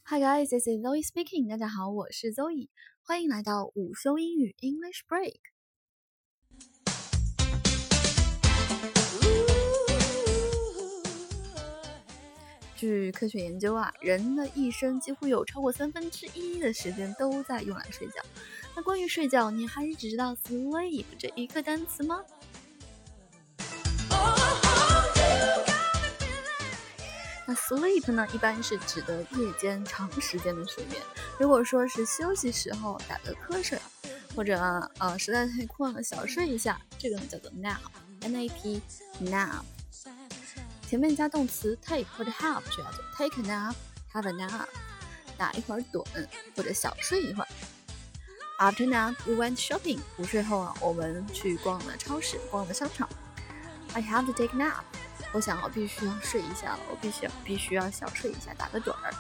Hi guys, this is Zoe speaking. 大家好，我是 Zoe， 欢迎来到午休英语 English Break。据科学研究啊，人的一生几乎有超过1/3的时间都在用来睡觉。那关于睡觉，你还只知道 sleep 这一个单词吗？那 sleep 呢，一般是指的夜间长时间的睡眠。如果说是休息时候打个瞌睡，或者实在太困了小睡一下，这个呢叫做 nap，N-A-P nap。前面加动词 take 或者 have 就叫做 take a nap，have a nap， 打一会儿盹或者小睡一会儿。After nap, we went shopping。午睡后啊，我们去逛了超市，逛了商场。I have to take a nap。我想我必须要睡一下了，我必须要小睡一下，打个盹儿。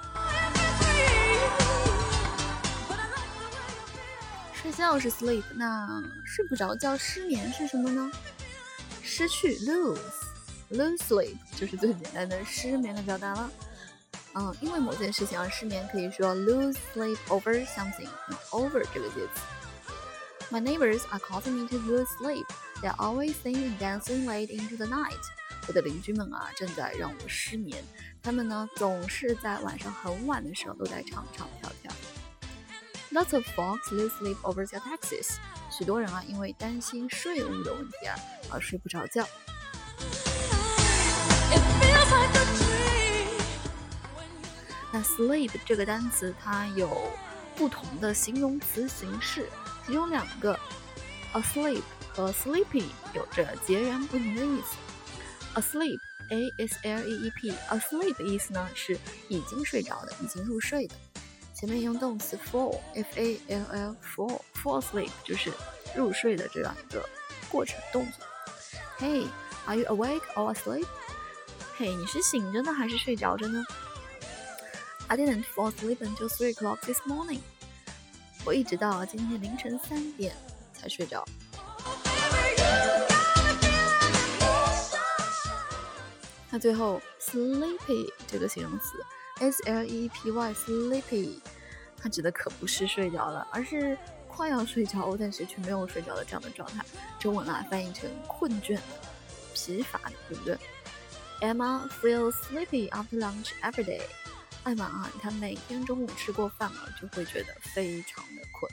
睡觉是 sleep， 那睡不着觉失眠是什么呢？失去 lose sleep 就是最简单的失眠的表达了。因为某件事情而失眠，可以说 lose sleep over something。over 这个介词。My neighbors are causing me to lose sleep. They're always singing and dancing late into the night. 我的邻居们啊，正在让我失眠。他们呢，总是在晚上很晚的时候都在唱唱跳跳。Lots of folks lose sleep over their taxes. 许多人啊，因为担心税务的问题而睡不着觉。那 sleep 这个单词它有不同的形容词形式，其中两个 asleep 和 sleepy 有着截然不同的意思。Asleep, A-S-L-E-E-P, asleep 意思呢是已经睡着的，已经入睡的。前面用动词 fall, F-A-L-L, fall asleep 就是入睡的这样一个过程动作。Hey, are you awake or asleep? Hey, 你是醒着呢还是睡着着呢？ I didn't fall asleep until 3 o'clock this morning. 我一直到今天凌晨3点才睡着。那最后 sleepy 这个形容词 S-L-E-P-Y sleepy 它指的可不是睡着了，而是快要睡着但是却没有睡着的这样的状态。中文翻译成困倦的、疲乏的，对不对？ Emma feels sleepy after lunch every day. 艾玛她每天中午吃过饭了就会觉得非常的困。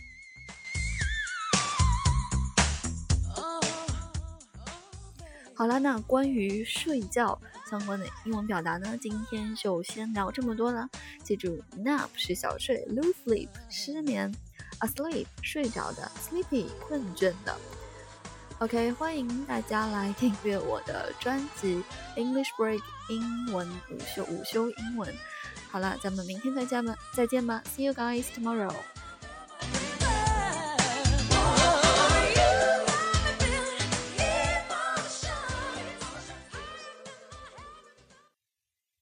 好了，那关于睡觉相关的英文表达呢，今天就先聊这么多了。记住 nap 是小睡， lose sleep 失眠， asleep 睡着的， sleepy 困倦的。OK， 欢迎大家来订阅我的专辑 English Break 英文午休英文。好了，咱们明天再见吧 See you guys tomorrow。